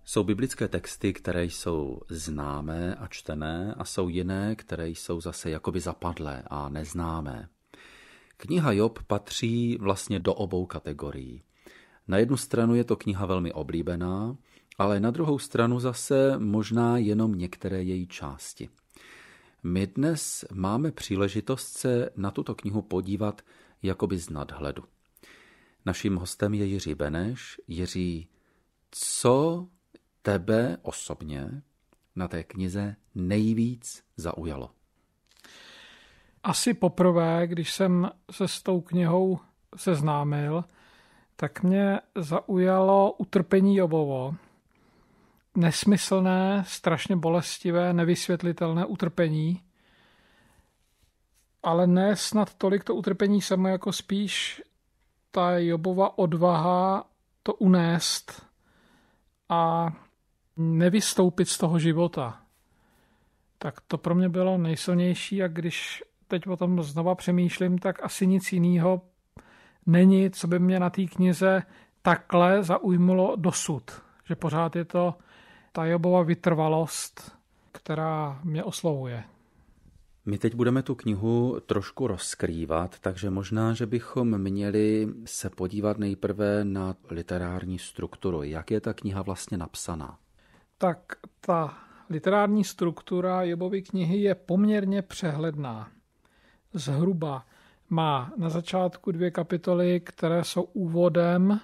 Jsou biblické texty, které jsou známé a čtené, a jsou jiné, které jsou zase jakoby zapadlé a neznámé. Kniha Job patří vlastně do obou kategorií. Na jednu stranu je to kniha velmi oblíbená, ale na druhou stranu zase možná jenom některé její části. My dnes máme příležitost se na tuto knihu podívat jakoby z nadhledu. Naším hostem je Jiří Beneš. Jiří, co tebe osobně na té knize nejvíc zaujalo? Asi poprvé, když jsem se s tou knihou seznámil, tak mě zaujalo utrpení Jobovo. Nesmyslné, strašně bolestivé, nevysvětlitelné utrpení, ale ne snad tolik to utrpení samo, jako spíš ta Jobova odvaha to unést a nevystoupit z toho života. Tak to pro mě bylo nejsilnější, a když teď o tom znova přemýšlím, tak asi nic jiného není, co by mě na té knize takhle zaujmulo dosud. Že pořád je to ta Jobova vytrvalost, která mě oslovuje. My teď budeme tu knihu trošku rozkrývat, takže možná, že bychom měli se podívat nejprve na literární strukturu. Jak je ta kniha vlastně napsaná? Tak ta literární struktura Jobovy knihy je poměrně přehledná. Zhruba má na začátku 2 kapitoly, které jsou úvodem,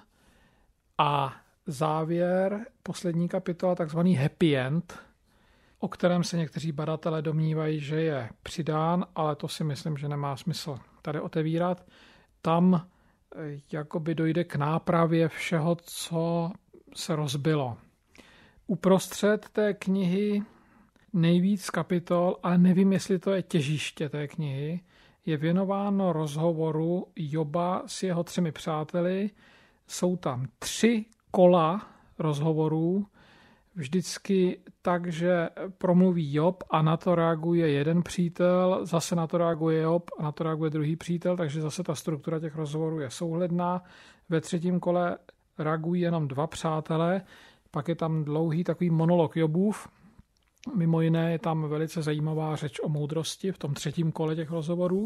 a závěr, poslední kapitola, takzvaný happy end, o kterém se někteří badatelé domnívají, že je přidán, ale to si myslím, že nemá smysl tady otevírat. Tam jakoby dojde k nápravě všeho, co se rozbilo. Uprostřed té knihy nejvíc kapitol, ale nevím, jestli to je těžiště té knihy, je věnováno rozhovoru Joba s jeho 3 přáteli. Jsou tam 3 kola rozhovorů, vždycky tak, že promluví Job a na to reaguje jeden přítel, zase na to reaguje Job a na to reaguje druhý přítel, takže zase ta struktura těch rozhovorů je souhledná. Ve 3. kole reagují jenom 2 přátelé, pak je tam dlouhý takový monolog Jobův. Mimo jiné je tam velice zajímavá řeč o moudrosti v tom 3. kole těch rozhovorů.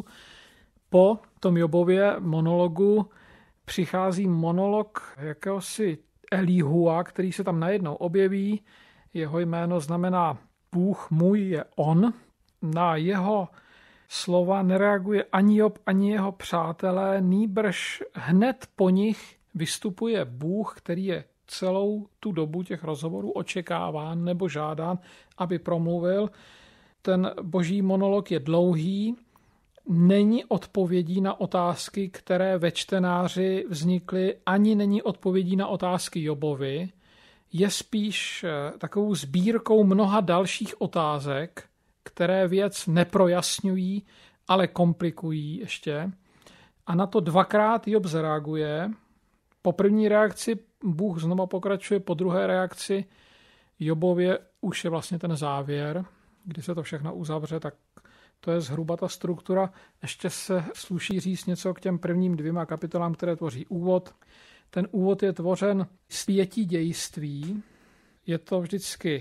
Po tom Jobově monologu přichází monolog jakéhosi Elihua, který se tam najednou objeví. Jeho jméno znamená Bůh můj je on. Na jeho slova nereaguje ani Job, ani jeho přátelé, nýbrž hned po nich vystupuje Bůh, který je celou tu dobu těch rozhovorů očekáván nebo žádán, aby promluvil. Ten boží monolog je dlouhý, není odpovědí na otázky, které ve čtenáři vznikly, ani není odpovědí na otázky Jobovi, je spíš takovou sbírkou mnoha dalších otázek, které věc neprojasňují, ale komplikují ještě. A na to 2krát Job zareaguje. Po první reakci Bůh znova pokračuje, po druhé reakci Jobově už je vlastně ten závěr, kdy se to všechno uzavře, tak to je zhruba ta struktura. Ještě se sluší říct něco k těm prvním 2 kapitolám, které tvoří úvod. Ten úvod je tvořen z 5 dějství. Je to vždycky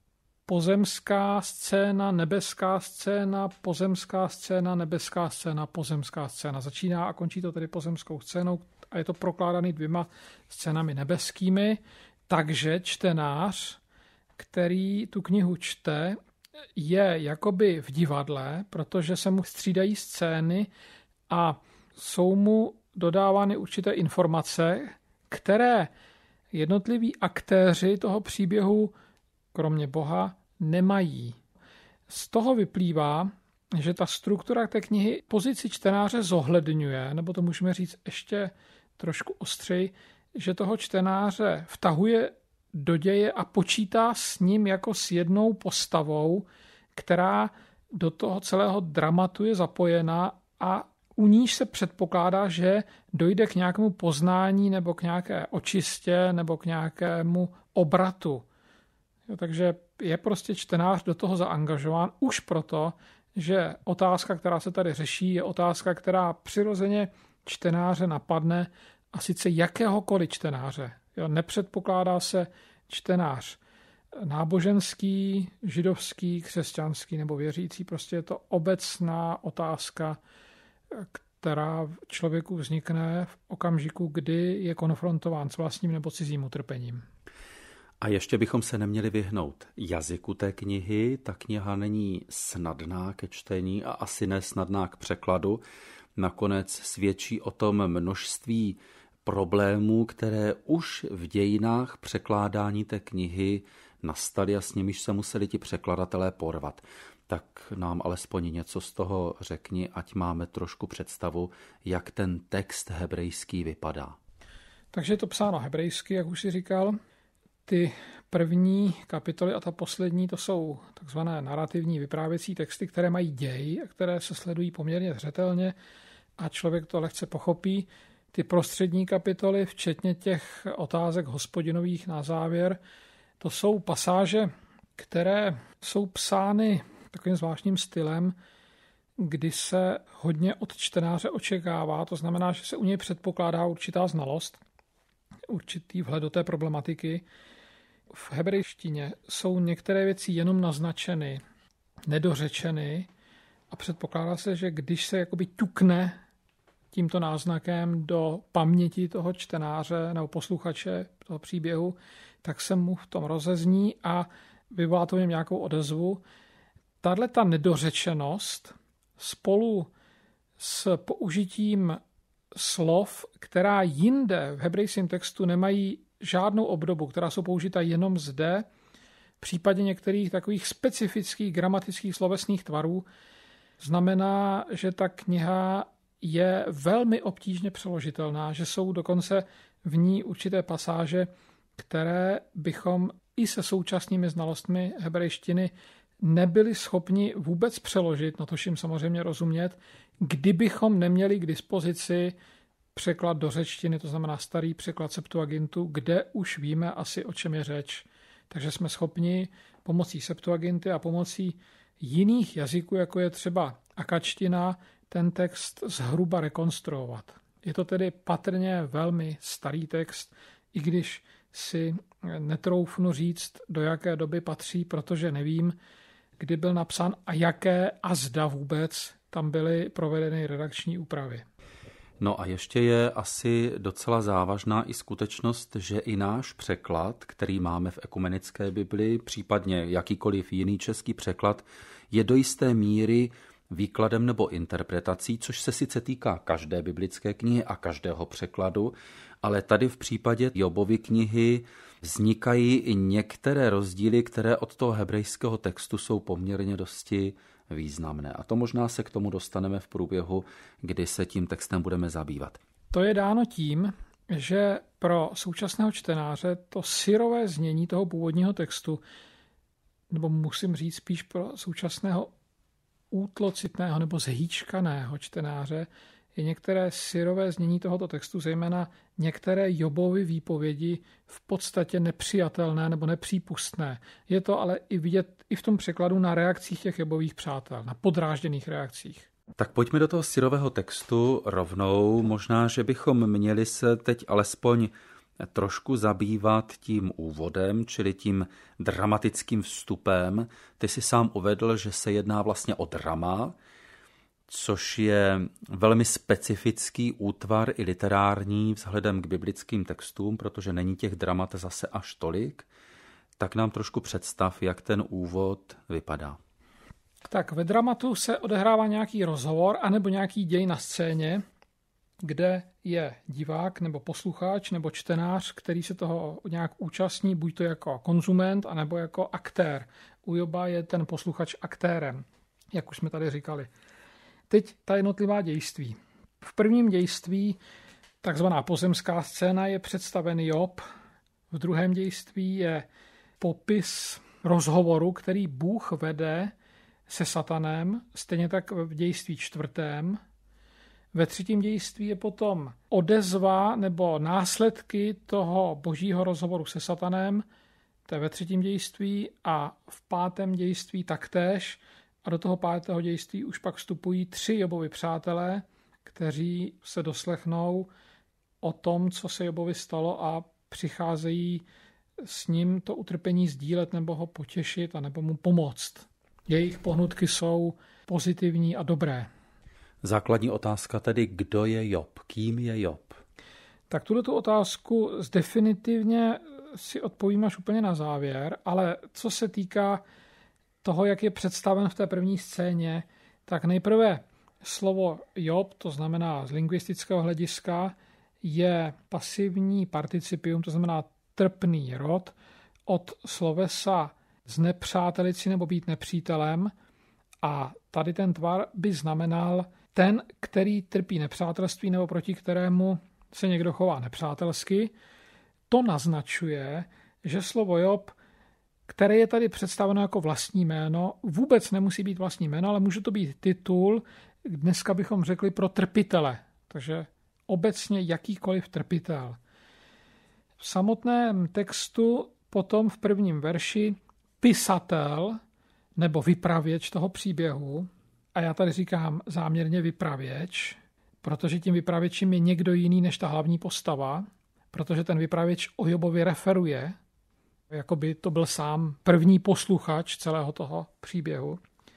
pozemská scéna, nebeská scéna, pozemská scéna, nebeská scéna, pozemská scéna. Začíná a končí to tedy pozemskou scénou a je to prokládaný 2 scénami nebeskými. Takže čtenář, který tu knihu čte, je jakoby v divadle, protože se mu střídají scény a jsou mu dodávány určité informace, které jednotliví aktéři toho příběhu, kromě Boha, nemají. Z toho vyplývá, že ta struktura té knihy pozici čtenáře zohledňuje, nebo to můžeme říct ještě trošku ostřeji, že toho čtenáře vtahuje do děje a počítá s ním jako s jednou postavou, která do toho celého dramatu je zapojena a u níž se předpokládá, že dojde k nějakému poznání nebo k nějaké očistě nebo k nějakému obratu. Takže je prostě čtenář do toho zaangažován už proto, že otázka, která se tady řeší, je otázka, která přirozeně čtenáře napadne, a sice jakéhokoliv čtenáře. Nepředpokládá se čtenář náboženský, židovský, křesťanský nebo věřící. Prostě je to obecná otázka, která člověku vznikne v okamžiku, kdy je konfrontován s vlastním nebo cizím utrpením. A ještě bychom se neměli vyhnout jazyku té knihy. Ta kniha není snadná ke čtení a asi ne snadná k překladu. Nakonec svědčí o tom množství problémů, které už v dějinách překládání té knihy nastaly a s nimiž se museli ti překladatelé porvat. Tak nám alespoň něco z toho řekni, ať máme trošku představu, jak ten text hebrejský vypadá. Takže je to psáno hebrejsky, jak už si říkal. Ty první kapitoly a ta poslední, to jsou takzvané narrativní vyprávěcí texty, které mají děj a které se sledují poměrně zřetelně a člověk to lehce pochopí. Ty prostřední kapitoly, včetně těch otázek Hospodinových na závěr, to jsou pasáže, které jsou psány takovým zvláštním stylem, kdy se hodně od čtenáře očekává, to znamená, že se u něj předpokládá určitá znalost, určitý vhled do té problematiky. V hebrejštině jsou některé věci jenom naznačeny, nedořečeny a předpokládá se, že když se jakoby ťukne tímto náznakem do paměti toho čtenáře nebo posluchače toho příběhu, tak se mu v tom rozezní a vyvolá to v něm nějakou odezvu. Tato nedořečenost spolu s použitím slov, která jinde v hebrejském textu nemají žádnou obdobu, která jsou použita jenom zde, v případě některých takových specifických gramatických slovesných tvarů, znamená, že ta kniha je velmi obtížně přeložitelná, že jsou dokonce v ní určité pasáže, které bychom i se současnými znalostmi hebrejštiny nebyli schopni vůbec přeložit, no tož jim samozřejmě rozumět, kdybychom neměli k dispozici překlad do řečtiny, to znamená starý překlad Septuagintu, kde už víme asi, o čem je řeč. Takže jsme schopni pomocí Septuaginty a pomocí jiných jazyků, jako je třeba akačtina, ten text zhruba rekonstruovat. Je to tedy patrně velmi starý text, i když si netroufnu říct, do jaké doby patří, protože nevím, kdy byl napsán a jaké a zda vůbec tam byly provedeny redakční úpravy. No a ještě je asi docela závažná i skutečnost, že i náš překlad, který máme v ekumenické Bibli, případně jakýkoliv jiný český překlad, je do jisté míry výkladem nebo interpretací, což se sice týká každé biblické knihy a každého překladu, ale tady v případě Jobovy knihy vznikají i některé rozdíly, které od toho hebrejského textu jsou poměrně dosti významné. A to možná se k tomu dostaneme v průběhu, kdy se tím textem budeme zabývat. To je dáno tím, že pro současného čtenáře to syrové znění toho původního textu, nebo musím říct spíš pro současného útlocitného nebo zhýčkaného čtenáře, je některé syrové znění tohoto textu, zejména některé Jobovy výpovědi v podstatě nepřijatelné nebo nepřípustné. Je to ale i vidět i v tom překladu na reakcích těch Jobových přátel, na podrážděných reakcích. Tak pojďme do toho syrového textu rovnou. Možná, že bychom měli se teď alespoň trošku zabývat tím úvodem, čili tím dramatickým vstupem. Ty si sám uvedl, že se jedná vlastně o drama, což je velmi specifický útvar i literární vzhledem k biblickým textům, protože není těch dramat zase až tolik. Tak nám trošku představ, jak ten úvod vypadá. Tak ve dramatu se odehrává nějaký rozhovor anebo nějaký děj na scéně, kde je divák nebo posluchač nebo čtenář, který se toho nějak účastní, buď to jako konzument, anebo jako aktér. U Joba je ten posluchač aktérem, jak už jsme tady říkali. Teď ta jednotlivá dějství. V prvním dějství, takzvaná pozemská scéna, je představen Job. V druhém dějství je popis rozhovoru, který Bůh vede se satanem, stejně tak v dějství čtvrtém. Ve třetím dějství je potom odezva nebo následky toho božího rozhovoru se satanem, to je ve třetím dějství, a v pátém dějství taktéž. A do toho pátého dějství už pak vstupují 3 Jobovi přátelé, kteří se doslechnou o tom, co se Jobovi stalo, a přicházejí s ním to utrpení sdílet nebo ho potěšit a nebo mu pomoct. Jejich pohnutky jsou pozitivní a dobré. Základní otázka tedy, kdo je Job? Kým je Job? Tak tuto otázku definitivně si odpovím až úplně na závěr, ale co se týká toho, jak je představen v té první scéně, tak nejprve slovo Job, to znamená z lingvistického hlediska, je pasivní participium, to znamená trpný rod, od slovesa znepřátelit si nebo být nepřítelem, a tady ten tvar by znamenal ten, který trpí nepřátelství nebo proti kterému se někdo chová nepřátelsky. To naznačuje, že slovo Job, které je tady představeno jako vlastní jméno, vůbec nemusí být vlastní jméno, ale může to být titul, dneska bychom řekli pro trpitele, takže obecně jakýkoliv trpitel. V samotném textu potom v prvním verši pisatel nebo vypravěč toho příběhu, a já tady říkám záměrně vypravěč, protože tím vypravěčem je někdo jiný než ta hlavní postava, protože ten vypravěč o Jobovi referuje, jako by to byl sám první posluchač celého toho příběhu.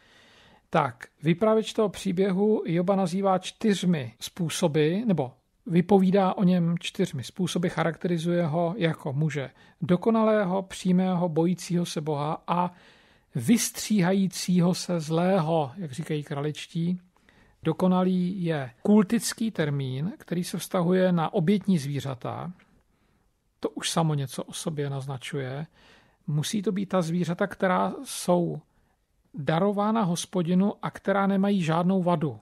Tak, vypravěč toho příběhu Joba nazývá 4 způsoby, nebo vypovídá o něm 4 způsoby, charakterizuje ho jako muže dokonalého, přímého, bojícího se Boha a vystříhajícího se zlého, jak říkají kraličtí. Dokonalý je kultický termín, který se vztahuje na obětní zvířata. To už samo něco o sobě naznačuje. Musí to být ta zvířata, která jsou darována Hospodinu a která nemají žádnou vadu.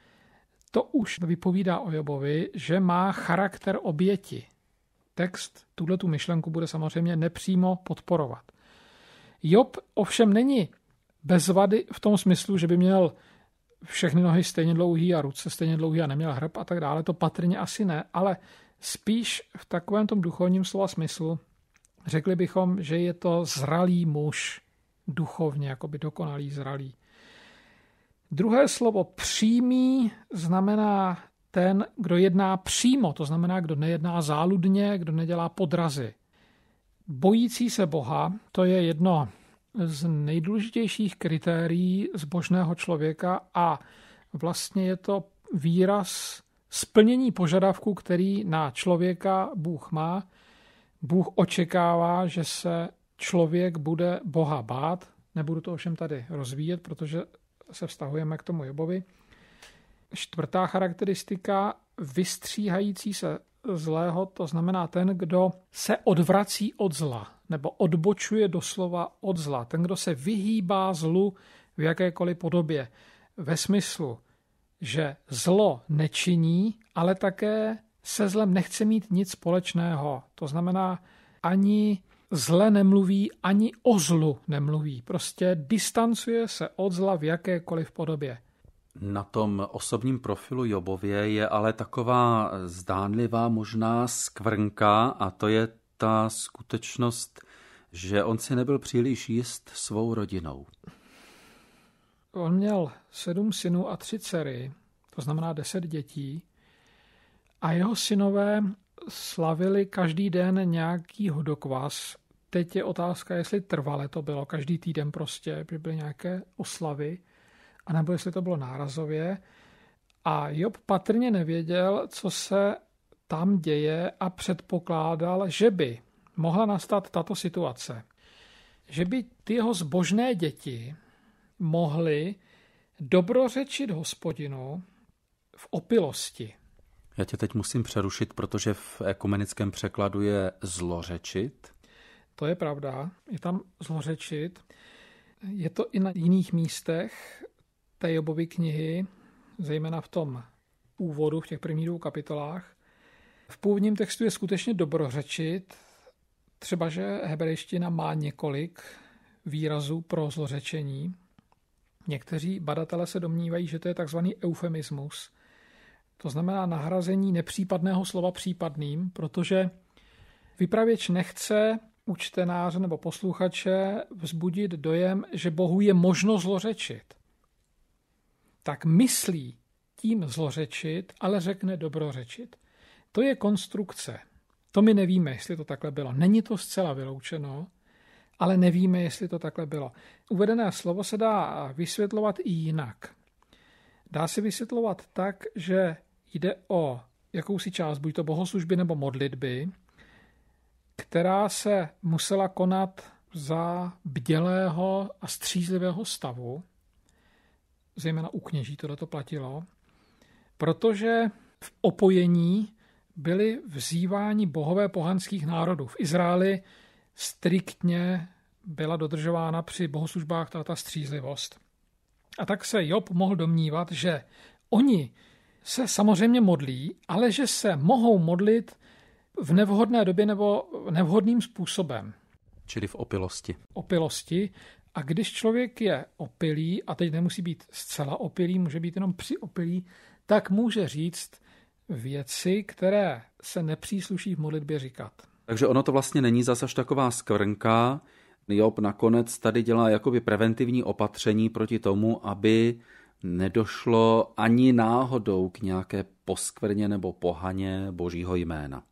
To už vypovídá o Jobovi, že má charakter oběti. Text tuhletu myšlenku bude samozřejmě nepřímo podporovat. Job ovšem není bez vady v tom smyslu, že by měl všechny nohy stejně dlouhý a ruce stejně dlouhý a neměl hrb a tak dále. To patrně asi ne, ale spíš v takovém tom duchovním slova smyslu řekli bychom, že je to zralý muž, duchovně, jakoby dokonalý, zralý. Druhé slovo přímý znamená ten, kdo jedná přímo, to znamená, kdo nejedná záludně, kdo nedělá podrazy. Bojící se Boha, to je jedno z nejdůležitějších kritérií zbožného člověka a vlastně je to výraz splnění požadavků, který na člověka Bůh má. Bůh očekává, že se člověk bude Boha bát. Nebudu to ovšem tady rozvíjet, protože se vztahujeme k tomu Jobovi. 4. charakteristika, vystříhající se zlého, to znamená ten, kdo se odvrací od zla, nebo odbočuje doslova od zla. Ten, kdo se vyhýbá zlu v jakékoliv podobě. Ve smyslu, že zlo nečiní, ale také se zlem nechce mít nic společného. To znamená, ani zle nemluví, ani o zlu nemluví. Prostě distancuje se od zla v jakékoliv podobě. Na tom osobním profilu Jobově je ale taková zdánlivá možná skvrnka a to je ta skutečnost, že on si nebyl příliš jist svou rodinou. On měl 7 synů a 3 dcery, to znamená 10 dětí, a jeho synové slavili každý den nějaký hodokvas. Teď je otázka, jestli trvale to bylo, každý týden prostě, by byly nějaké oslavy, anebo jestli to bylo nárazově. A Job patrně nevěděl, co se tam děje a předpokládal, že by mohla nastat tato situace. Že by ty jeho zbožné děti mohly dobrořečit Hospodinu v opilosti. Já tě teď musím přerušit, protože v ekumenickém překladu je zlořečit. To je pravda, je tam zlořečit. Je to i na jiných místech té Jobovy knihy, zejména v tom úvodu, v těch prvních 2 kapitolách. V původním textu je skutečně dobrořečit, třeba že hebrejština má několik výrazů pro zlořečení. Někteří badatelé se domnívají, že to je takzvaný eufemismus. To znamená nahrazení nepřípadného slova případným, protože vypravěč nechce u čtenáře nebo posluchače vzbudit dojem, že Bohu je možno zlořečit. Tak myslí tím zlořečit, ale řekne dobrořečit. To je konstrukce. To my nevíme, jestli to takhle bylo. Není to zcela vyloučeno, ale nevíme, jestli to takhle bylo. Uvedené slovo se dá vysvětlovat i jinak. Dá se vysvětlovat tak, že jde o jakousi část, buď to bohoslužby nebo modlitby, která se musela konat za bdělého a střízlivého stavu, zejména u kněží tohleto platilo, protože v opojení byli vzýváni bohové pohanských národů. V Izraeli striktně byla dodržována při bohoslužbách ta střízlivost. A tak se Job mohl domnívat, že oni se samozřejmě modlí, ale že se mohou modlit v nevhodné době nebo nevhodným způsobem. Čili v opilosti. Opilosti. A když člověk je opilý, a teď nemusí být zcela opilý, může být jenom přiopilý, tak může říct věci, které se nepřísluší v modlitbě říkat. Takže ono to vlastně není zas až taková skvrnka. Job nakonec tady dělá jakoby preventivní opatření proti tomu, aby nedošlo ani náhodou k nějaké poskvrně nebo pohaně božího jména.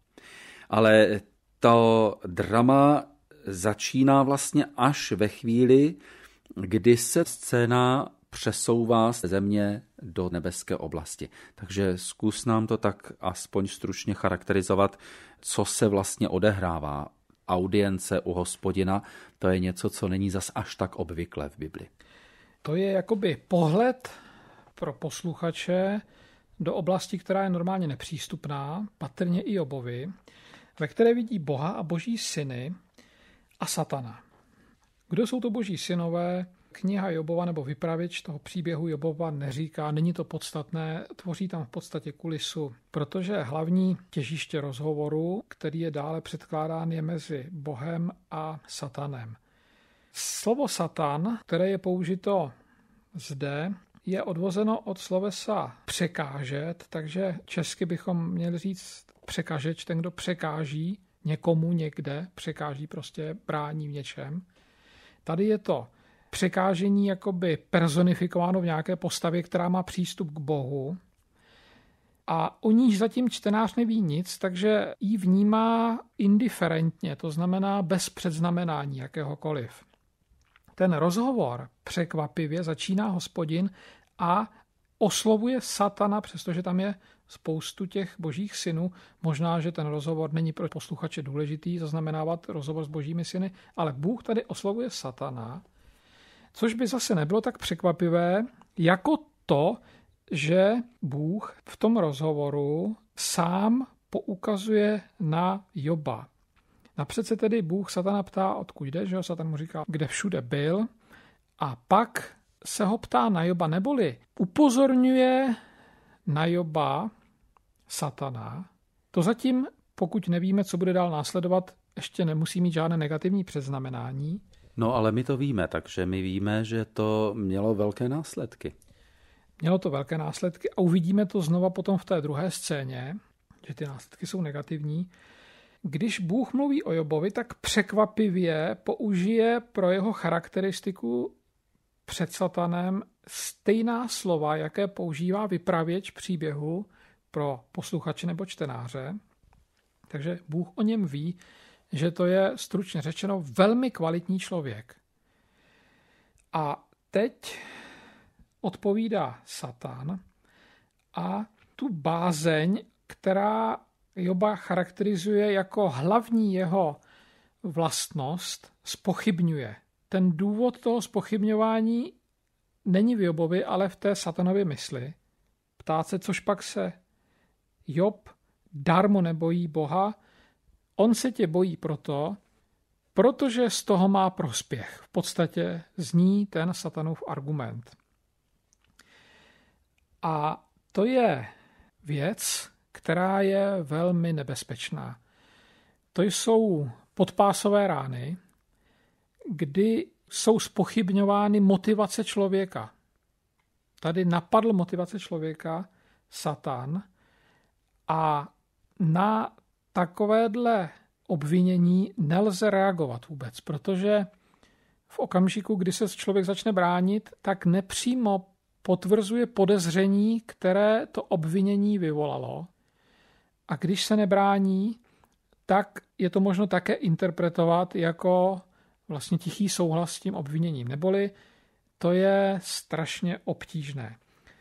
Ale to drama začíná vlastně až ve chvíli, kdy se scéna přesouvá z země do nebeské oblasti. Takže zkus nám to tak aspoň stručně charakterizovat, co se vlastně odehrává. Audience u Hospodina, to je něco, co není zas až tak obvyklé v Bibli. To je jakoby pohled pro posluchače do oblasti, která je normálně nepřístupná, patrně i Jobovi, ve které vidí Boha a boží syny a satana. Kdo jsou to boží synové? Kniha Jobova nebo vypravěč toho příběhu Jobova neříká, není to podstatné, tvoří tam v podstatě kulisu, protože hlavní těžiště rozhovoru, který je dále předkládán, je mezi Bohem a satanem. Slovo satan, které je použito zde, je odvozeno od slovesa překážet, takže česky bychom měli říct překažeč, ten, kdo překáží někomu někde, překáží prostě brání v něčem. Tady je to překážení jakoby personifikováno v nějaké postavě, která má přístup k Bohu. A o níž zatím čtenář neví nic, takže ji vnímá indiferentně, to znamená bez předznamenání jakéhokoliv. Ten rozhovor překvapivě začíná Hospodin a oslovuje satana, přestože tam je spoustu těch božích synů. Možná, že ten rozhovor není pro posluchače důležitý zaznamenávat rozhovor s božími syny, ale Bůh tady oslovuje satana, což by zase nebylo tak překvapivé, jako to, že Bůh v tom rozhovoru sám poukazuje na Joba. Napřed se tedy Bůh satana ptá, odkud jde, že jo? Satan mu říká, kde všude byl, a pak se ho ptá na Joba, neboli upozorňuje na Joba satana. To zatím, pokud nevíme, co bude dál následovat, ještě nemusí mít žádné negativní předznamenání. No ale my to víme, takže my víme, že to mělo velké následky. Mělo to velké následky a uvidíme to znova potom v té druhé scéně, že ty následky jsou negativní. Když Bůh mluví o Jobovi, tak překvapivě použije pro jeho charakteristiku před satanem stejná slova, jaké používá vypravěč příběhu pro posluchače nebo čtenáře. Takže Bůh o něm ví, že to je stručně řečeno velmi kvalitní člověk. A teď odpovídá Satan a tu bázeň, která Joba charakterizuje jako hlavní jeho vlastnost, zpochybňuje. Ten důvod toho zpochybňování není v Jobovi, ale v té satanově mysli. Ptát se, což pak se Job darmo nebojí Boha, on se tě bojí protože z toho má prospěch. V podstatě zní ten satanův argument. A to je věc, která je velmi nebezpečná. To jsou podpásové rány, kdy jsou zpochybňovány motivace člověka. Tady napadl motivace člověka Satan a na takovéhle obvinění nelze reagovat vůbec, protože v okamžiku, kdy se člověk začne bránit, tak nepřímo potvrzuje podezření, které to obvinění vyvolalo. A když se nebrání, tak je to možno také interpretovat jako vlastně tichý souhlas s tím obviněním. Neboli to je strašně obtížné.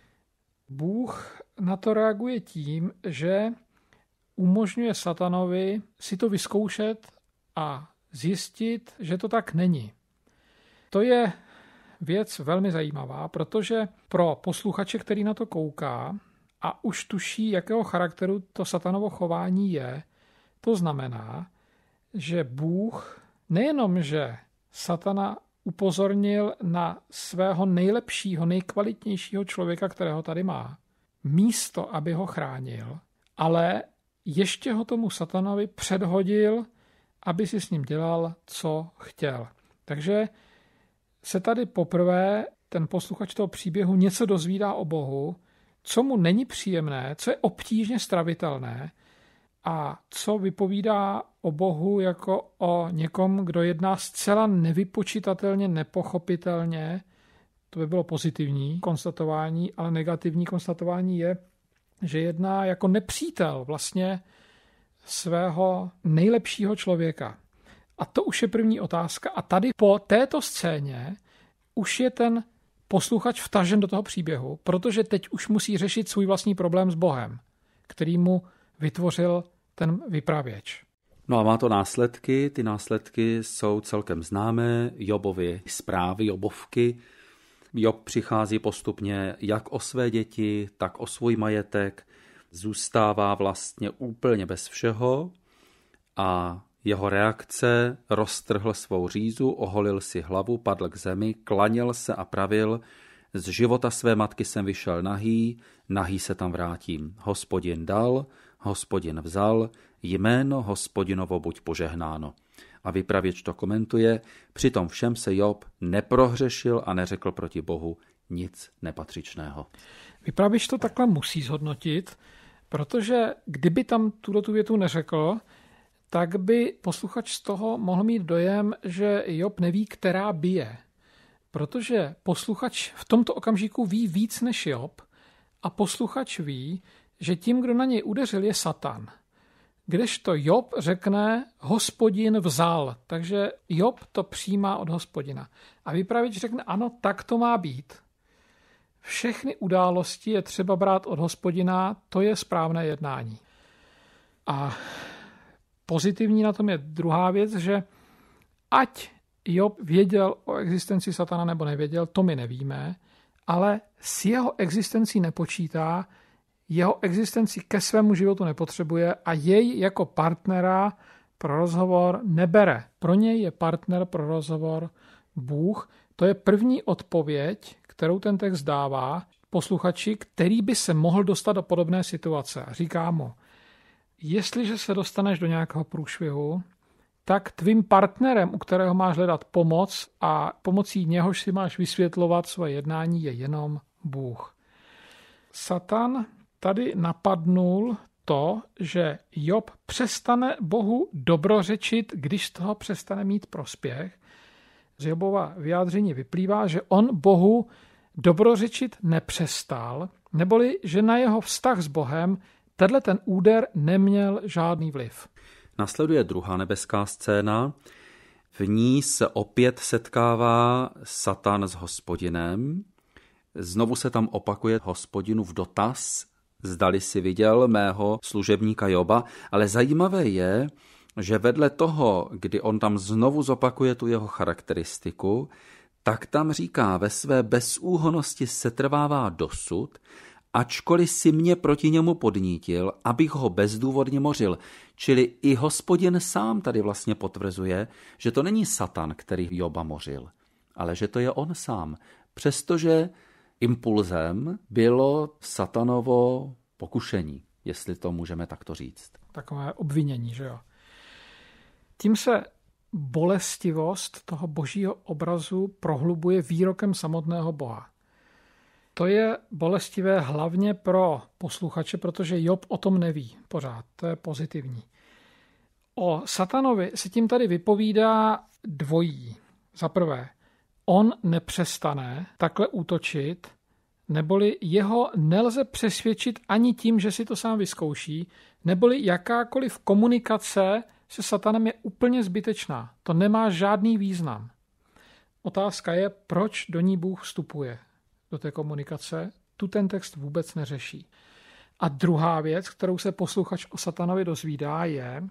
Bůh na to reaguje tím, že umožňuje satanovi si to vyzkoušet a zjistit, že to tak není. To je věc velmi zajímavá, protože pro posluchače, který na to kouká a už tuší, jakého charakteru to satanovo chování je, to znamená, že Bůh nejenom, že satana upozornil na svého nejlepšího, nejkvalitnějšího člověka, kterého tady má, místo, aby ho chránil, ale ještě ho tomu satanovi předhodil, aby si s ním dělal, co chtěl. Takže se tady poprvé ten posluchač toho příběhu něco dozvídá o Bohu, co mu není příjemné, co je obtížně stravitelné a co vypovídá o Bohu jako o někom, kdo jedná zcela nevypočitatelně, nepochopitelně. To by bylo pozitivní konstatování, ale negativní konstatování je, že jedná jako nepřítel vlastně svého nejlepšího člověka. A to už je první otázka. A tady po této scéně už je ten posluchač vtažen do toho příběhu, protože teď už musí řešit svůj vlastní problém s Bohem, který mu vytvořil ten vypravěč. No a má to následky. Ty následky jsou celkem známé. Jobovy zprávy, Jobovky. Job přichází postupně jak o své děti, tak o svůj majetek. Zůstává vlastně úplně bez všeho a jeho reakce: roztrhl svou řízu, oholil si hlavu, padl k zemi, klaněl se a pravil: z života své matky jsem vyšel nahý, nahý se tam vrátím. Hospodin dal, Hospodin vzal, jméno Hospodinovo buď požehnáno. A vypravěč to komentuje: přitom všem se Job neprohřešil a neřekl proti Bohu nic nepatřičného. Vypravěč to takhle musí zhodnotit, protože kdyby tam tu větu neřekl, tak by posluchač z toho mohl mít dojem, že Job neví, která bije. Protože posluchač v tomto okamžiku ví víc než Job a posluchač ví, že tím, kdo na něj udeřil, je Satan. Kdežto Job řekne: Hospodin vzal, takže Job to přijímá od Hospodina. A vypravěč řekne: ano, tak to má být. Všechny události je třeba brát od Hospodina, to je správné jednání. A pozitivní na tom je druhá věc, že ať Job věděl o existenci Satana nebo nevěděl, to my nevíme, ale s jeho existencí nepočítá, jeho existenci ke svému životu nepotřebuje a jej jako partnera pro rozhovor nebere. Pro něj je partner pro rozhovor Bůh. To je první odpověď, kterou ten text dává posluchači, který by se mohl dostat do podobné situace. A říká mu: jestliže se dostaneš do nějakého průšvihu, tak tvým partnerem, u kterého máš hledat pomoc a pomocí něhož si máš vysvětlovat svoje jednání, je jenom Bůh. Satan tady napadnul to, že Job přestane Bohu dobrořečit, když z toho přestane mít prospěch. Z Jobova vyjádření vyplývá, že on Bohu dobrořečit nepřestal, neboli že na jeho vztah s Bohem tenhle ten úder neměl žádný vliv. Nasleduje druhá nebeská scéna. V ní se opět setkává Satan s Hospodinem. Znovu se tam opakuje Hospodinův dotaz: zdali si viděl mého služebníka Joba. Ale zajímavé je, že vedle toho, kdy on tam znovu zopakuje tu jeho charakteristiku, tak tam říká: ve své bezúhonnosti setrvává dosud, ačkoliv si mě proti němu podnítil, abych ho bezdůvodně mořil. Čili i Hospodin sám tady vlastně potvrzuje, že to není Satan, který Joba mořil, ale že to je on sám. Přestože impulzem bylo Satanovo pokušení, jestli to můžeme takto říct. Takové obvinění, že jo. Tím se bolestivost toho božího obrazu prohlubuje výrokem samotného Boha. To je bolestivé hlavně pro posluchače, protože Job o tom neví pořád. To je pozitivní. O Satanovi se tím tady vypovídá dvojí. Za prvé, on nepřestane takhle útočit, neboli jeho nelze přesvědčit ani tím, že si to sám vyzkouší, neboli jakákoliv komunikace se satanem je úplně zbytečná. To nemá žádný význam. Otázka je, proč do ní Bůh vstupuje, do té komunikace. Tu ten text vůbec neřeší. A druhá věc, kterou se posluchač o satanovi dozvídá, je,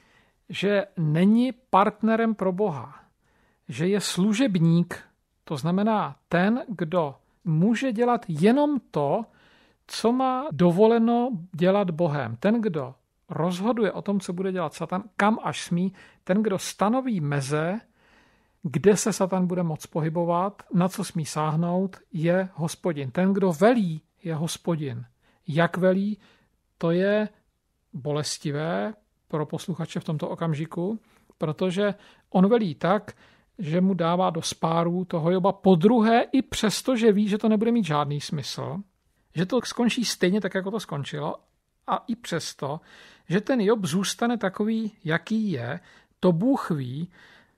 že není partnerem pro Boha, že je služebník, to znamená ten, kdo může dělat jenom to, co má dovoleno dělat Bohem. Ten, kdo rozhoduje o tom, co bude dělat Satan, kam až smí, ten, kdo stanoví meze, kde se Satan bude moct pohybovat, na co smí sáhnout, je Hospodin. Ten, kdo velí, je Hospodin. Jak velí, to je bolestivé pro posluchače v tomto okamžiku, protože on velí tak, že mu dává do spáru toho Joba podruhé i přesto, že ví, že to nebude mít žádný smysl, že to skončí stejně tak, jako to skončilo, a i přesto, že ten Job zůstane takový, jaký je, to Bůh ví,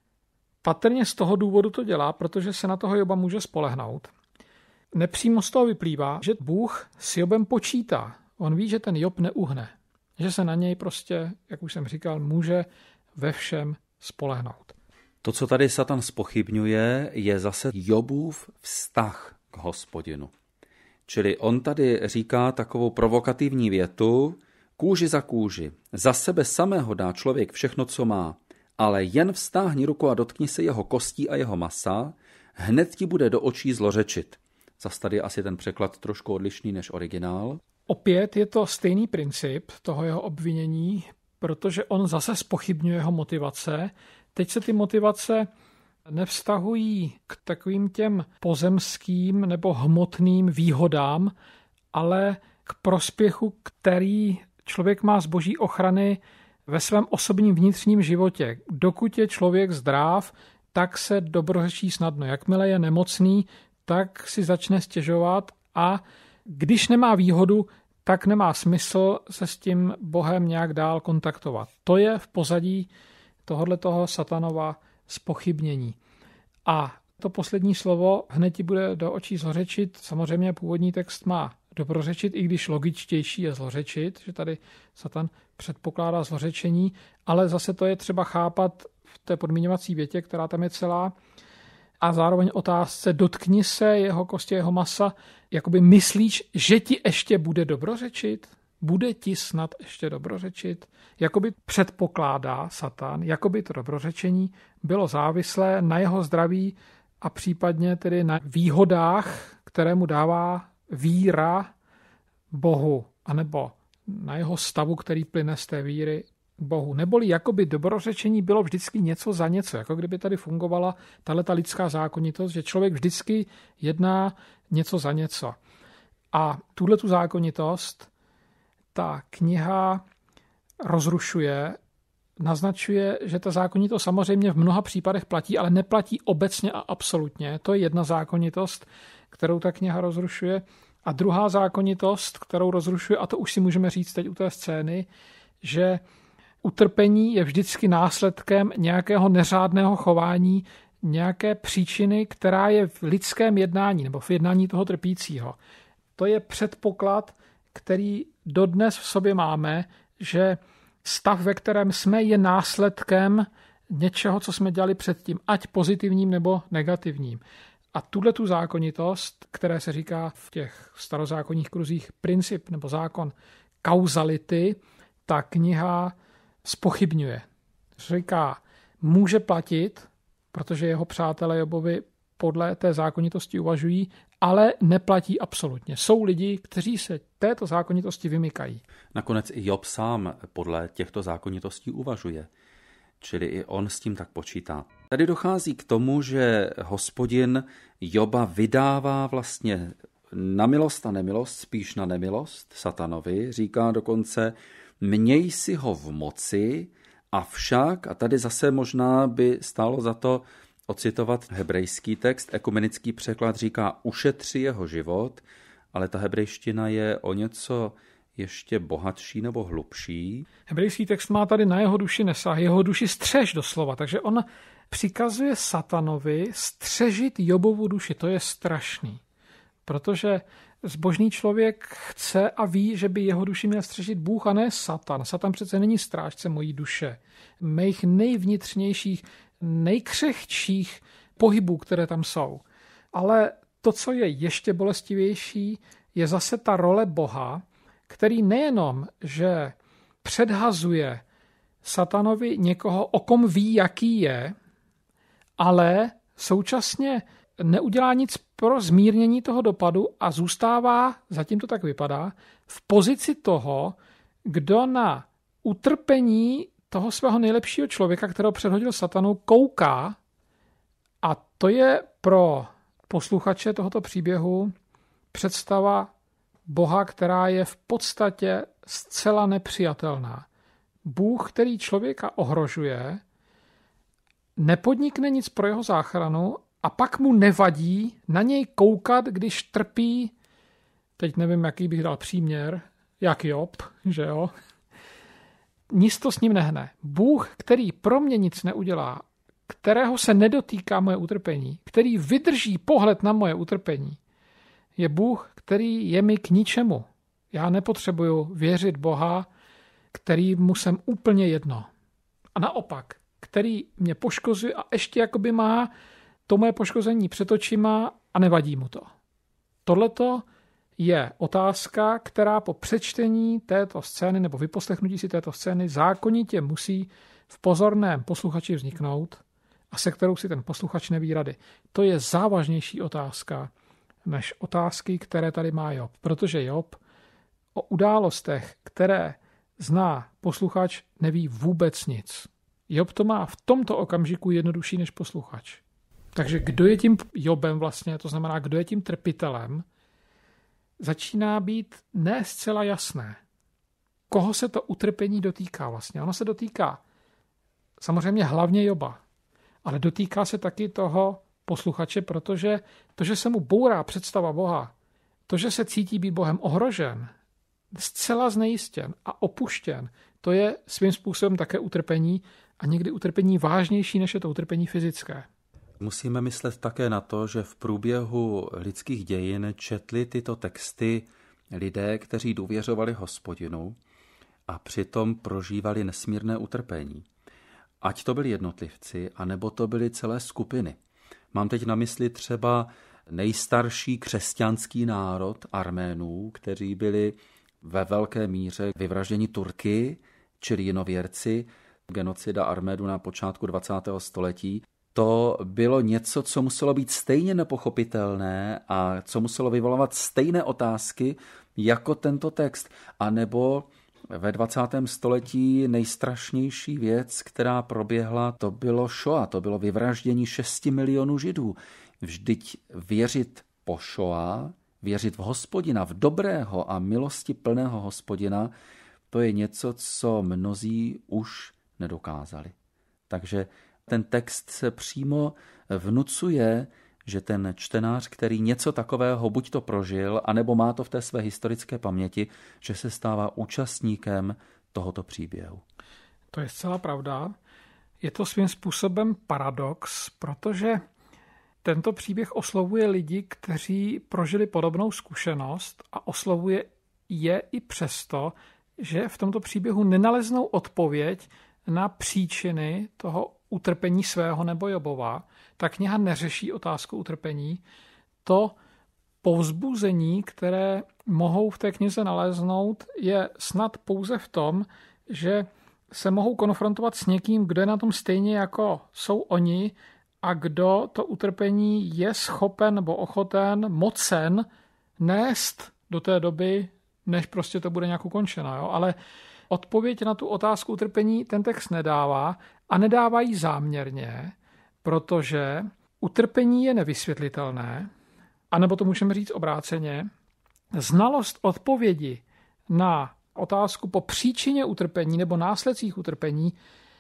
patrně z toho důvodu to dělá, protože se na toho Joba může spolehnout. Nepřímo z toho vyplývá, že Bůh s Jobem počítá. On ví, že ten Job neuhne, že se na něj prostě, jak už jsem říkal, může ve všem spolehnout. To, co tady Satan zpochybňuje, je zase Jobův vztah k Hospodinu. Čili on tady říká takovou provokativní větu: kůži za kůži, za sebe samého dá člověk všechno, co má, ale jen vztáhni ruku a dotkni se jeho kostí a jeho masa, hned ti bude do očí zlořečit. Zas tady je asi ten překlad trošku odlišný než originál. Opět je to stejný princip toho jeho obvinění, protože on zase zpochybňuje jeho motivace. Teď se ty motivace nevztahují k takovým těm pozemským nebo hmotným výhodám, ale k prospěchu, který člověk má z boží ochrany ve svém osobním vnitřním životě. Dokud je člověk zdrav, tak se dobrořečí snadno. Jakmile je nemocný, tak si začne stěžovat, a když nemá výhodu, tak nemá smysl se s tím Bohem nějak dál kontaktovat. To je v pozadí tohoto Satanova zpochybnění. A to poslední slovo hned ti bude do očí zlořečit. Samozřejmě původní text má dobrořečit, i když logičtější je zlořečit, že tady Satan předpokládá zlořečení, ale zase to je třeba chápat v té podmiňovací větě, která tam je celá, a zároveň otázce dotkni se jeho kosti, jeho masa, jakoby myslíš, že ti ještě bude dobrořečit? Bude ti snad ještě dobrořečit? Jakoby předpokládá Satan, jakoby to dobrořečení bylo závislé na jeho zdraví a případně tedy na výhodách, které mu dává víra Bohu, anebo na jeho stavu, který plyne z té víry Bohu. Neboli jakoby dobrořečení bylo vždycky něco za něco, jako kdyby tady fungovala tato lidská zákonitost, že člověk vždycky jedná něco za něco. A tuhletu zákonitost ta kniha rozrušuje, naznačuje, že ta zákonitost samozřejmě v mnoha případech platí, ale neplatí obecně a absolutně. To je jedna zákonitost, kterou ta kniha rozrušuje. A druhá zákonitost, kterou rozrušuje, a to už si můžeme říct teď u té scény, že utrpení je vždycky následkem nějakého neřádného chování, nějaké příčiny, která je v lidském jednání nebo v jednání toho trpícího. To je předpoklad, který dodnes v sobě máme, že stav, ve kterém jsme, je následkem něčeho, co jsme dělali předtím, ať pozitivním nebo negativním. A tuhletu zákonitost, které se říká v těch starozákonních kruzích princip nebo zákon kauzality, ta kniha zpochybňuje. Říká, může platit, protože jeho přátelé Jobovi podle té zákonitosti uvažují, ale neplatí absolutně. Jsou lidi, kteří se této zákonitosti vymykají. Nakonec i Job sám podle těchto zákonitostí uvažuje, čili i on s tím tak počítá. Tady dochází k tomu, že Hospodin Joba vydává vlastně na milost a nemilost, spíš na nemilost Satanovi. Říká dokonce, měj si ho v moci, avšak, a tady zase možná by stálo za to ocitovat hebrejský text, ekumenický překlad říká, ušetři jeho život, ale ta hebrejština je o něco ještě bohatší nebo hlubší. Hebrejský text má tady na jeho duši nesah, jeho duši střež doslova, takže on přikazuje Satanovi střežit Jobovu duši, to je strašný, protože Zbožný člověk chce a ví, že by jeho duši měl střežit Bůh a ne Satan. Satan přece není strážce mojí duše. Mých nejvnitřnějších, nejkřehčích pohybů, které tam jsou. Ale to, co je ještě bolestivější, je zase ta role Boha, který nejenom, že předhazuje Satanovi někoho, o kom ví, jaký je, ale současně neudělá nic pro zmírnění toho dopadu a zůstává, zatím to tak vypadá, v pozici toho, kdo na utrpení toho svého nejlepšího člověka, kterého předhodil Satanu, kouká. A to je pro posluchače tohoto příběhu představa Boha, která je v podstatě zcela nepřijatelná. Bůh, který člověka ohrožuje, nepodnikne nic pro jeho záchranu a pak mu nevadí na něj koukat, když trpí, teď nevím, jaký bych dal příměr, jak Job, že jo? Nic to s ním nehne. Bůh, který pro mě nic neudělá, kterého se nedotýká moje utrpení, který vydrží pohled na moje utrpení, je Bůh, který je mi k ničemu. Já nepotřebuju věřit Boha, kterýmu jsem úplně jedno. A naopak, který mě poškozuje a ještě jakoby má to moje poškození před očima a nevadí mu to. Tohleto je otázka, která po přečtení této scény nebo vyposlechnutí si této scény zákonitě musí v pozorném posluchači vzniknout a se kterou si ten posluchač neví rady. To je závažnější otázka než otázky, které tady má Job. Protože Job o událostech, které zná posluchač, neví vůbec nic. Job to má v tomto okamžiku jednodušší než posluchač. Takže kdo je tím Jobem vlastně, to znamená, kdo je tím trpitelem, začíná být ne zcela jasné. Koho se to utrpení dotýká vlastně? Ono se dotýká samozřejmě hlavně Joba, ale dotýká se taky toho posluchače, protože to, že se mu bourá představa Boha, to, že se cítí být Bohem ohrožen, zcela znejistěn a opuštěn, to je svým způsobem také utrpení a někdy utrpení vážnější, než je to utrpení fyzické. Musíme myslet také na to, že v průběhu lidských dějin četli tyto texty lidé, kteří důvěřovali Hospodinu a přitom prožívali nesmírné utrpení. Ať to byli jednotlivci, anebo to byly celé skupiny. Mám teď na mysli třeba nejstarší křesťanský národ Arménů, kteří byli ve velké míře vyvražděni Turky, čili jinověrci, genocida Arménů na počátku 20. století. To bylo něco, co muselo být stejně nepochopitelné a co muselo vyvolávat stejné otázky jako tento text. A nebo ve 20. století nejstrašnější věc, která proběhla, to bylo Šoa, to bylo vyvraždění 6 milionů Židů. Vždyť věřit po Šoa, věřit v Hospodina, v dobrého a milosti plného Hospodina, to je něco, co mnozí už nedokázali. Takže ten text se přímo vnucuje, že ten čtenář, který něco takového buď to prožil, anebo má to v té své historické paměti, že se stává účastníkem tohoto příběhu. To je zcela pravda. Je to svým způsobem paradox, protože tento příběh oslovuje lidi, kteří prožili podobnou zkušenost a oslovuje je i přesto, že v tomto příběhu nenaleznou odpověď na příčiny toho utrpení svého nebo Jobova. Ta kniha neřeší otázku utrpení. To povzbuzení, které mohou v té knize naléznout, je snad pouze v tom, že se mohou konfrontovat s někým, kdo je na tom stejně jako jsou oni a kdo to utrpení je schopen nebo ochoten, mocen nést do té doby, než prostě to bude nějak ukončeno. Jo? Ale odpověď na tu otázku utrpení ten text nedává a nedává ji záměrně, protože utrpení je nevysvětlitelné, anebo to můžeme říct obráceně. Znalost odpovědi na otázku po příčině utrpení nebo následcích utrpení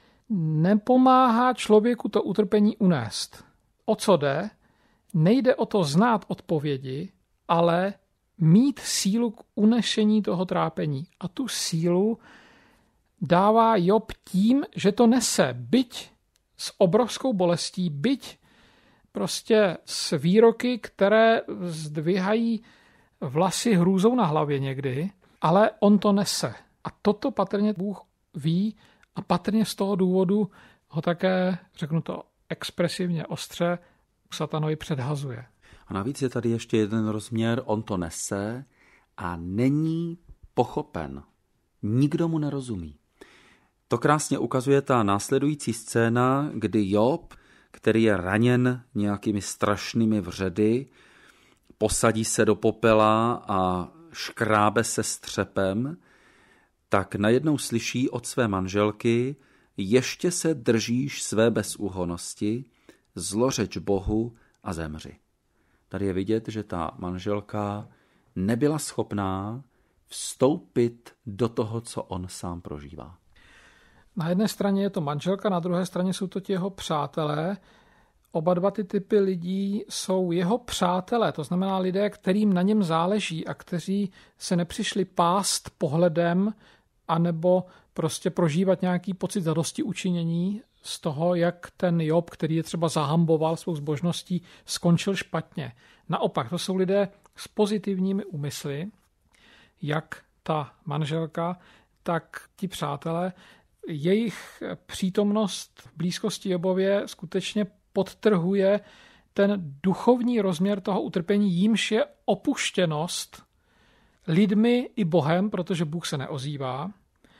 nepomáhá člověku to utrpení unést. O co jde? Nejde o to znát odpovědi, ale mít sílu k unešení toho trápení. A tu sílu dává Job tím, že to nese, byť s obrovskou bolestí, byť prostě s výroky, které zdvihají vlasy hrůzou na hlavě někdy, ale on to nese. A toto patrně Bůh ví a patrně z toho důvodu ho také, řeknu to expresivně ostře, satanovi předhazuje. A navíc je tady ještě jeden rozměr, on to nese a není pochopen. Nikdo mu nerozumí. To krásně ukazuje ta následující scéna, kdy Job, který je raněn nějakými strašnými vředy, posadí se do popela a škrábe se střepem, tak najednou slyší od své manželky: ještě se držíš své bezúhonnosti, zlořeč Bohu a zemři. Tady je vidět, že ta manželka nebyla schopná vstoupit do toho, co on sám prožívá. Na jedné straně je to manželka, na druhé straně jsou to ti jeho přátelé. Oba dva ty typy lidí jsou jeho přátelé, to znamená lidé, kterým na něm záleží a kteří se nepřišli pást pohledem anebo prostě prožívat nějaký pocit zadosti učinění z toho, jak ten Job, který je třeba zahamboval svou zbožností, skončil špatně. Naopak, to jsou lidé s pozitivními úmysly, jak ta manželka, tak ti přátelé. Jejich přítomnost v blízkosti Jobově skutečně podtrhuje ten duchovní rozměr toho utrpení, jímž je opuštěnost lidmi i Bohem, protože Bůh se neozývá.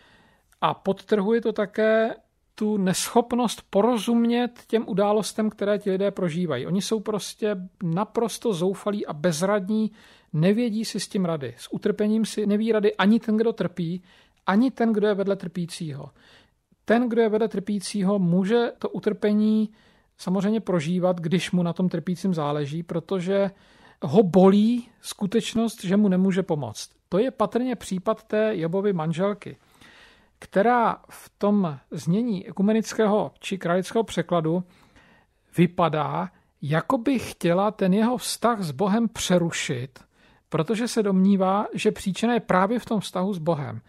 A podtrhuje to také tu neschopnost porozumět těm událostem, které ti lidé prožívají. Oni jsou prostě naprosto zoufalí a bezradní, nevědí si s tím rady. S utrpením si neví rady ani ten, kdo trpí, ani ten, kdo je vedle trpícího. Ten, kdo je vedle trpícího, může to utrpení samozřejmě prožívat, když mu na tom trpícím záleží, protože ho bolí skutečnost, že mu nemůže pomoct. To je patrně případ té Jobovy manželky, která v tom znění ekumenického či kralického překladu vypadá, jako by chtěla ten jeho vztah s Bohem přerušit, protože se domnívá, že příčina je právě v tom vztahu s Bohem.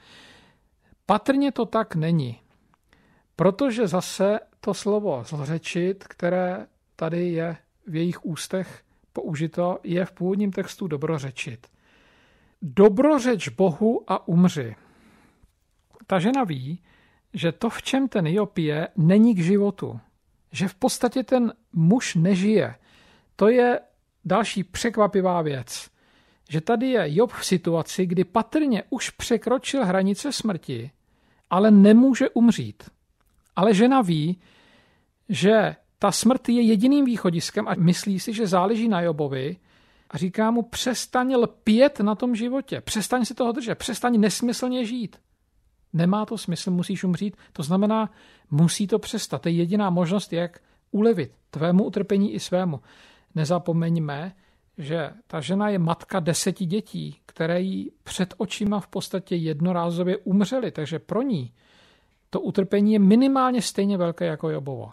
Patrně to tak není, protože zase to slovo zlřečit, které tady je v jejich ústech použito, je v původním textu dobrořečit. Dobrořeč Bohu a umři. Ta žena ví, že to, v čem ten Job je, není k životu. Že v podstatě ten muž nežije. To je další překvapivá věc. Že tady je Job v situaci, kdy patrně už překročil hranice smrti, ale nemůže umřít. Ale žena ví, že ta smrt je jediným východiskem a myslí si, že záleží na Jobovi a říká mu: přestaň lpět na tom životě, přestaň si toho držet, přestaň nesmyslně žít. Nemá to smysl, musíš umřít, to znamená, musí to přestat. To je jediná možnost, jak ulevit tvému utrpení i svému. Nezapomeňme, že ta žena je matka 10 dětí, které jí před očima v podstatě jednorázově umřely, takže pro ní to utrpení je minimálně stejně velké jako Jobovo.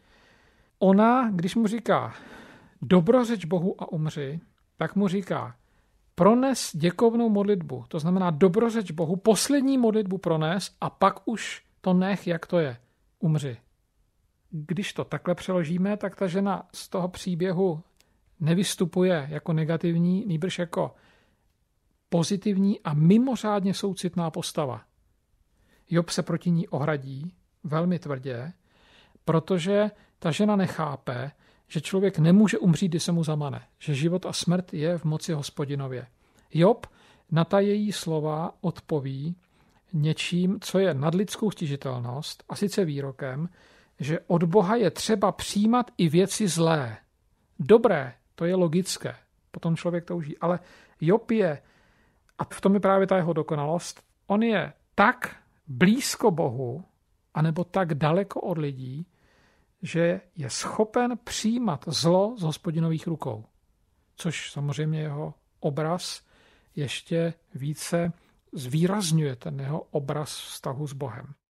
Ona, když mu říká dobrořeč Bohu a umři, tak mu říká: prones děkovnou modlitbu, to znamená dobrořeč Bohu, poslední modlitbu prones a pak už to nech, jak to je, umři. Když to takhle přeložíme, tak ta žena z toho příběhu nevystupuje jako negativní, nýbrž jako pozitivní a mimořádně soucitná postava. Job se proti ní ohradí velmi tvrdě, protože ta žena nechápe, že člověk nemůže umřít, když se mu zamane, že život a smrt je v moci Hospodinově. Job na ta její slova odpoví něčím, co je nadlidskou stížitelnost, a sice výrokem, že od Boha je třeba přijímat i věci zlé. Dobré, to je logické, potom člověk touží, ale Job je, a v tom je právě ta jeho dokonalost, on je tak blízko Bohu, anebo tak daleko od lidí, že je schopen přijímat zlo z Hospodinových rukou. Což samozřejmě jeho obraz ještě více zvýrazňuje, ten jeho obraz vztahu s Bohem.